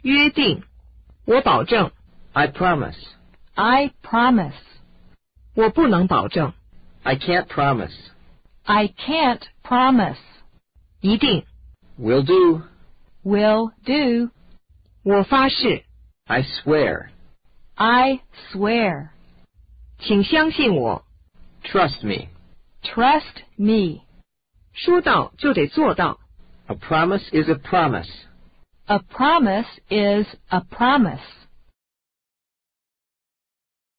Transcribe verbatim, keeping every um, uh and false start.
约定，我保证。 I promise. I promise. 我不能保证。 I can't promise. I can't promise. 一定。 Will do. Will do. 我发誓。 I swear. I swear. 请相信我。 Trust me. Trust me. 说到就得做到。 A promise is a promise. A promise is a promise.